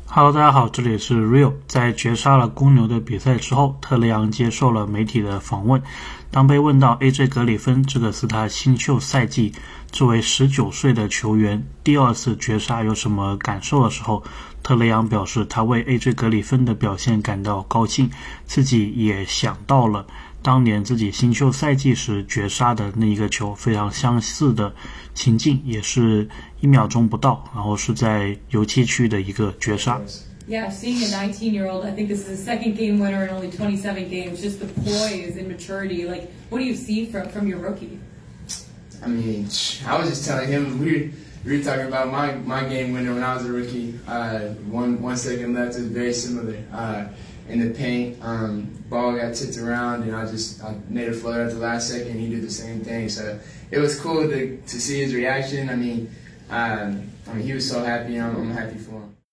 Hello，大家好，这里是 Real。在绝杀了公牛的比赛之后，特雷杨接受了媒体的访问。当被问到 AJ 格里芬这个是他新秀赛季作为19岁的球员第二次绝杀有什么感受的时候，特雷杨表示他为 AJ 格里芬的表现感到高兴，自己也想到了当年自己新秀赛季时绝杀的那一个球，非常相似的情境，也是1秒钟不到，然后是在油漆区的一个绝杀。 Yeah, seeing a 19-year-old, I think this is the second game winner in only 27 games, just the poise and maturity. Like, what do you see from your rookie? I mean, I was just telling him, we were talking about my game winner when I was a rookie. One second left, it was very similar. In the paint, ball got tipped around, and I made a floater at the last second. He did the same thing, so it was cool to see his reaction. I mean, he was so happy, and I'm happy for him.